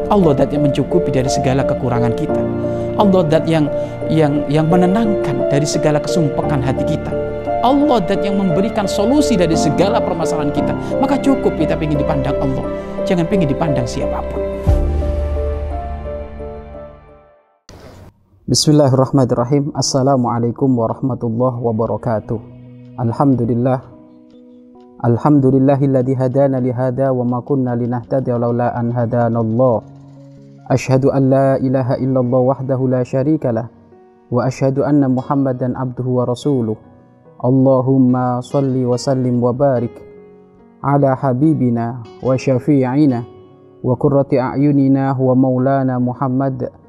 Allah dat yang mencukupi dari segala kekurangan kita. Allah dat yang menenangkan dari segala kesumpekan hati kita. Allah dat yang memberikan solusi dari segala permasalahan kita. Maka cukup kita ingin dipandang Allah, jangan ingin dipandang siapapun. Bismillahirrahmanirrahim. Assalamualaikum warahmatullahi wabarakatuh. Alhamdulillahilladzi hadana lihada wa ma kunna linahtadiya laula an hadanallah. Asyhadu an la ilaha illallah wahdahu la syarikalah wa asyhadu anna Muhammadan abduhu wa rasuluh. Allahumma salli wa sallim wa barik ala habibina wa syafi'ina wa qurrati a'yunina wa maulana Muhammad